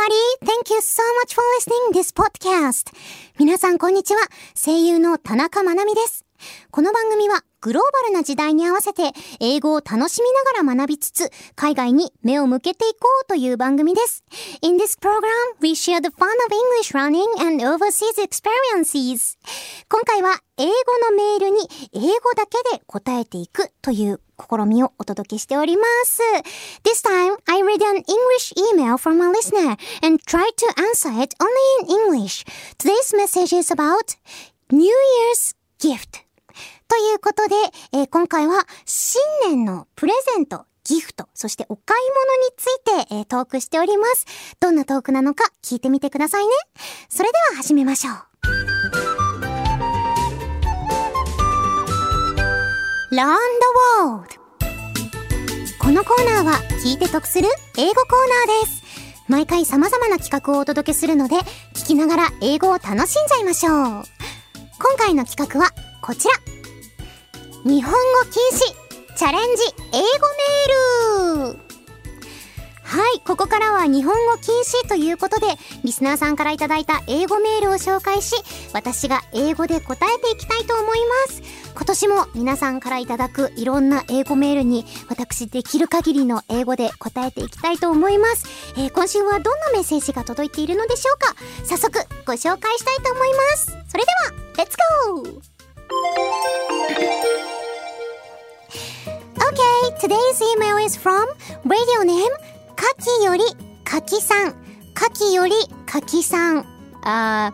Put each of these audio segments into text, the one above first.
everybody! Thank you so much for listening this podcast. 皆さんこんにちは。声優の田中まなみです。この番組はグローバルな時代に合わせて英語を楽しみながら学びつつ海外に目を向けていこうという番組です。In this program, we share the fun of English learning and overseas experiences. 今回は英語のメールに英語だけで答えていくという試みをお届けしております。This time, I read an English email from a listener and tried to answer it only in English. Today's message is about New Year's gift.ということで、今回は新年のプレゼント、ギフト、そしてお買い物について、トークしております。どんなトークなのか聞いてみてくださいね。それでは始めましょう。Learn the World。このコーナーは聞いて得する英語コーナーです。毎回様々な企画をお届けするので、聞きながら英語を楽しんじゃいましょう。今回の企画はこちら。日本語禁止チャレンジ英語メール。はい、ここからは日本語禁止ということでリスナーさんからいただいた英語メールを紹介し、私が英語で答えていきたいと思います。今年も皆さんからいただくいろんな英語メールに私できる限りの英語で答えていきたいと思います。今週はどんなメッセージが届いているのでしょうか。早速ご紹介したいと思います。それではレッツゴー。Okay, today's email is from radio name かきよりかきさん。かきよりかきさん。persimmon?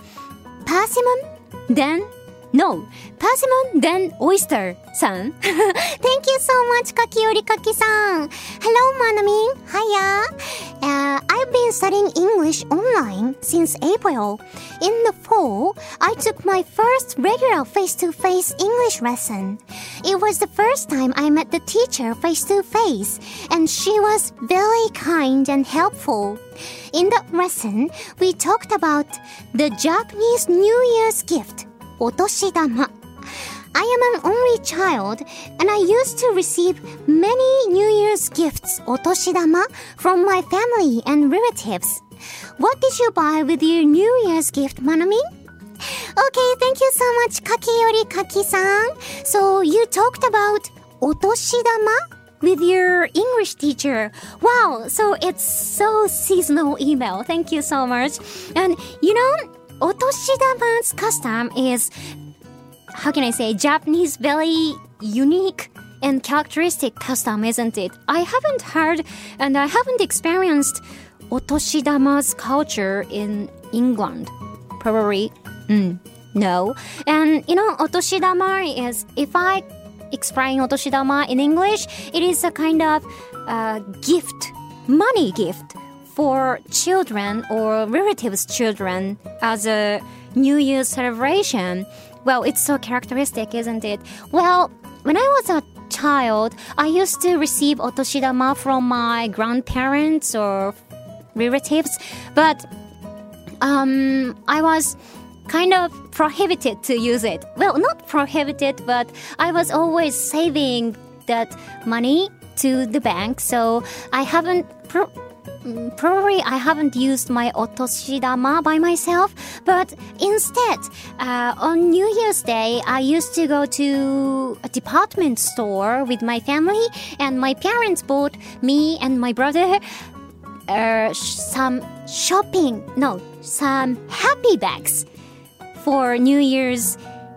Then? No. Persimmon, then oyster さん。Thank you so much, かきよりかきさん。Hello, Manamin. Hiya. I've been studying English online since April. In the fall, I took my first regular face-to-face English lesson. It was the first time I met the teacher face-to-face, and she was very kind and helpful. In that lesson, we talked about the Japanese New Year's gift, お年玉. I am an only child, and I used to receive many New Year's gifts, お年玉, from my family and relatives. What did you buy with your New Year's gift, Manami? Okay, thank you so much, かきよりかきさん. So you talked about お年玉with your English teacher. Wow, so it's so seasonal email. Thank you so much. And you know, お年玉's custom is, how can I say, Japanese very unique and characteristic custom, isn't it? I haven't heard and I haven't experienced お年玉's culture in England. Probably, no. And you know, お年玉 is, if I explain お年玉 in English, it is a kind of gift, money gift for children or relatives' children as a New Year's celebration. Well, it's so characteristic, isn't it? Well, when I was a child, I used to receive お年玉 from my grandparents or relatives, but I was kind of prohibited to use it. Well, not prohibited, but I was always saving that money to the bank, so I haven't probably I haven't used my お年玉 by myself, but instead, on New Year's Day, I used to go to a department store with my family, and my parents bought me and my brother some happy bags for New Year's,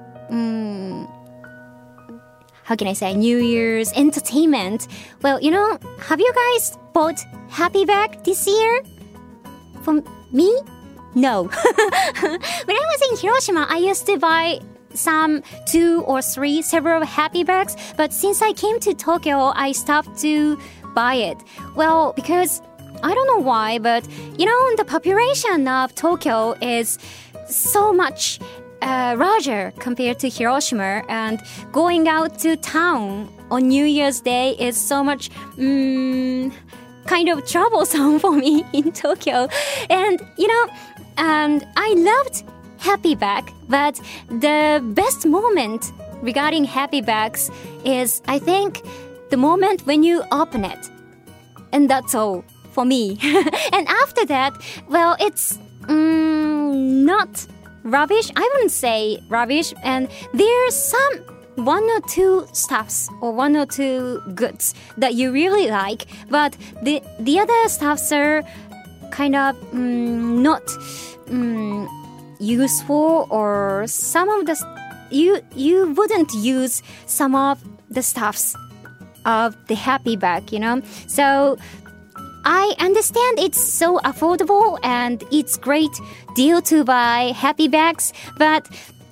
how can I say, New Year's entertainment. Well, you know, have you guys bought happy bag this year? For me? No. When I was in Hiroshima, I used to buy some 2 or 3 several happy bags, but since I came to Tokyo, I stopped to buy it. Well, because I don't know why, but you know, the population of Tokyo is so much larger compared to Hiroshima, and going out to town on New Year's Day is so much kind of troublesome for me in Tokyo. And you know, I loved Happy Bag, but the best moment regarding Happy Bags is, I think, the moment when you open it. And that's all for me. And after that, well, it's not rubbish. I wouldn't say rubbish. And there's some one or two stuffs or one or two goods that you really like, but the other stuffs are kind of not useful, or some of the you wouldn't use some of the stuffs of the happy bag, you know. So I understand it's so affordable and it's great deal to buy happy bags, but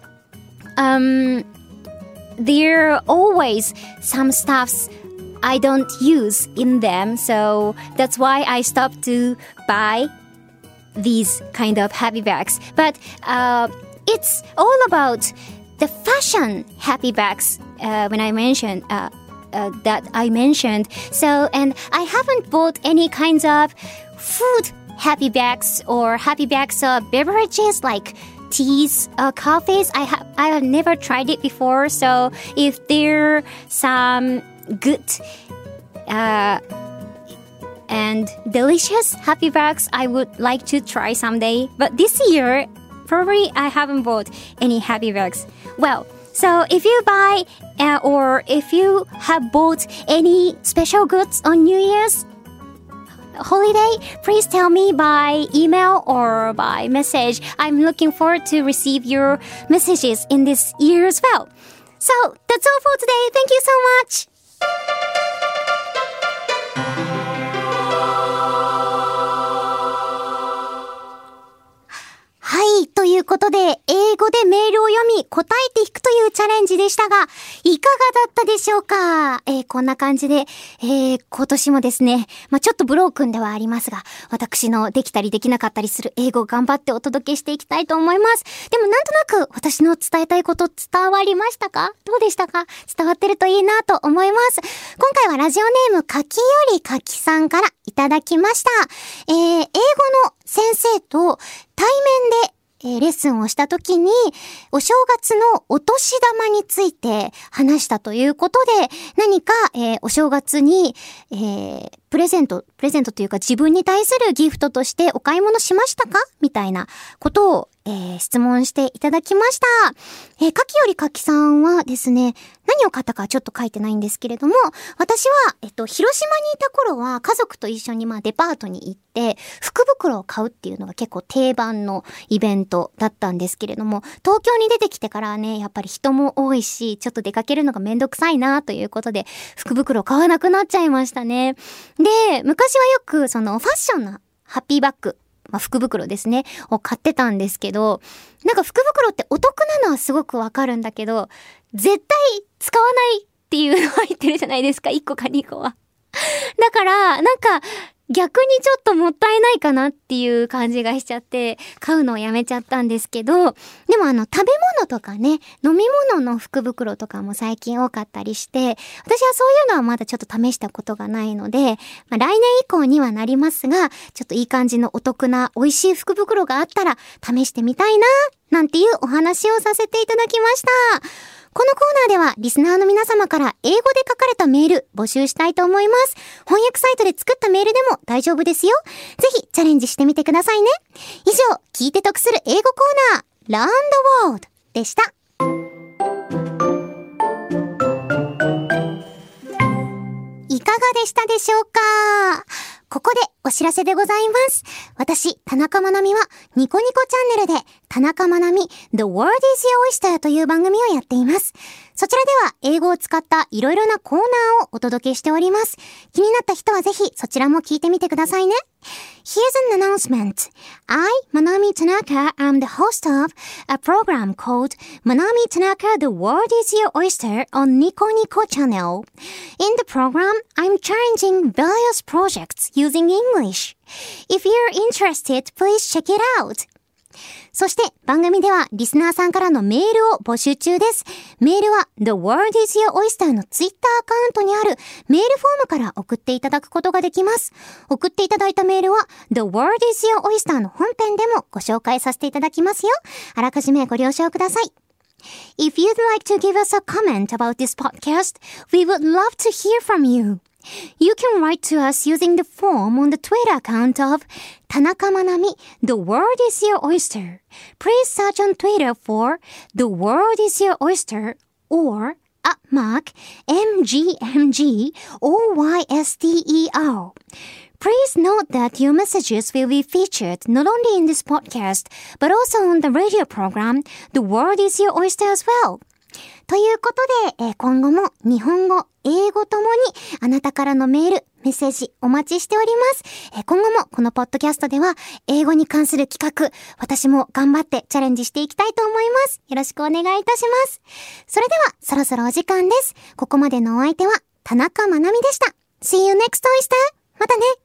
there are always some stuffs I don't use in them, so that's why I stopped to buy these kind of happy bags. But it's all about the fashion happy bags when I mentioned that I mentioned. So, and I haven't bought any kinds of food happy bags or happy bags of beverages like teas, coffees. I have never tried it before. So if there are some good and delicious happy bags, I would like to try someday. But this year, probably I haven't bought any happy bags. Well, so if you buy or if you have bought any special goods on New Year's holiday, please tell me by email or by message. I'm looking forward to receive your messages in this year as well. So that's all for today. Thank you so much.はい。ということで、英語でメールを読み、答えていくというチャレンジでしたが、いかがだったでしょうか？こんな感じで、今年もですね、ちょっとブロークンではありますが、私のできたりできなかったりする英語を頑張ってお届けしていきたいと思います。でもなんとなく私の伝えたいこと伝わりましたか？どうでしたか？伝わってるといいなと思います。今回はラジオネームかきよりかきさんからいただきました。英語の先生と対面でレッスンをしたときにお正月のお年玉について話したということで、何か、お正月に、プレゼントというか自分に対するギフトとしてお買い物しましたかみたいなことを、質問していただきました。かきよりかきさんはですね、何を買ったかちょっと書いてないんですけれども、私は、広島にいた頃は家族と一緒にデパートに行って福袋を買うっていうのが結構定番のイベントだったんですけれども、東京に出てきてからね、やっぱり人も多いし、ちょっと出かけるのがめんどくさいなということで、福袋を買わなくなっちゃいましたね。で、昔はよくそのファッションなハッピーバッグ、福袋ですね、を買ってたんですけど、なんか福袋ってお得なのはすごくわかるんだけど、絶対使わないっていうの入ってるじゃないですか、1個か2個は。だから、なんか、逆にちょっともったいないかなっていう感じがしちゃって買うのをやめちゃったんですけど、でも食べ物とかね、飲み物の福袋とかも最近多かったりして、私はそういうのはまだちょっと試したことがないので、来年以降にはなりますが、ちょっといい感じのお得な美味しい福袋があったら試してみたいな、なんていうお話をさせていただきました。このコーナーではリスナーの皆様から英語で書かれたメール募集したいと思います。翻訳サイトで作ったメールでも大丈夫ですよ。ぜひチャレンジしてみてくださいね。以上、聞いて得する英語コーナー Learn the World でした。いかがでしたでしょうか？ここでお知らせでございます。私、田中まなみはニコニコチャンネルで田中まなみ The World is Your Oyster という番組をやっています。そちらでは英語を使ったいろいろなコーナーをお届けしております。気になった人はぜひそちらも聞いてみてくださいね。Here's an announcement. I, Manami Tanaka, am the host of a program called Manami Tanaka The World is Your Oyster on Nico Nico channel. In the program, I'm challenging various projects using English. If you're interested, please check it out. そして番組ではリスナーさんからのメールを募集中です。メールは The World is Your Oyster のツイッターアカウントにあるメールフォームから送っていただくことができます。送っていただいたメールは The World is Your Oyster の本編でもご紹介させていただきますよ。あらかじめご了承ください。If you'd like to give us a comment about this podcast, we would love to hear from you. You can write to us using the form on the Twitter account of 田中まなみ The world is your oyster. Please search on Twitter for The world is your oyster or @MGMGOYSTER. Please note that your messages will be featured not only in this podcast, but also on the radio program, The World is Your Oyster as well. ということで、今後も日本語、英語ともにあなたからのメール、メッセージお待ちしております。今後もこのポッドキャストでは英語に関する企画、私も頑張ってチャレンジしていきたいと思います。よろしくお願いいたします。それではそろそろお時間です。ここまでのお相手は田中まなみでした。See you next oyster! またね。